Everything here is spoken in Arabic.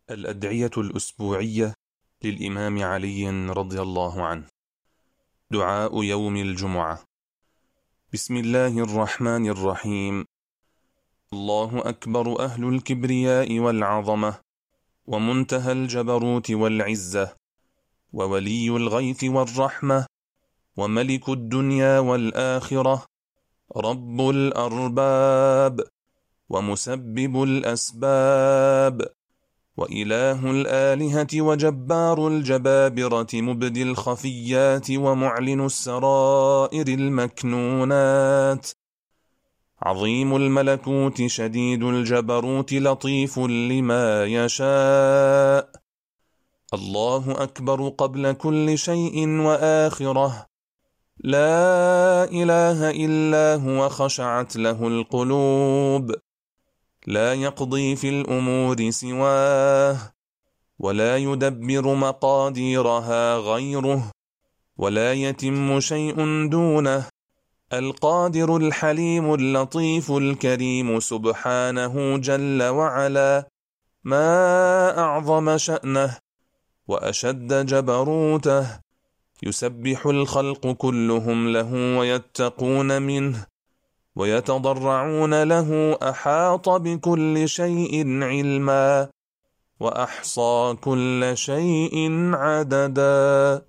الأدعية الأسبوعية للإمام علي رضي الله عنه. دعاء يوم الجمعة. بسم الله الرحمن الرحيم. الله أكبر أهل الكبرياء والعظمة، ومنتهى الجبروت والعزة، وولي الغيث والرحمة، وملك الدنيا والآخرة، رب الأرباب، ومسبب الأسباب، وإله الآلهة وجبار الجبابرة، مبدي الخفيات ومعلن السرائر المكنونات، عظيم الملكوت شديد الجبروت لطيف لما يشاء. الله أكبر قبل كل شيء وآخره، لا إله إلا هو خشعت له القلوب، لا يقضي في الأمور سواه، ولا يدبر مقاديرها غيره، ولا يتم شيء دونه. القادر الحليم اللطيف الكريم سبحانه جل وعلا، ما أعظم شأنه وأشد جبروته. يسبح الخلق كلهم له ويتقون منه ويتضرعون له، أحاط بكل شيء علما وأحصى كل شيء عددا.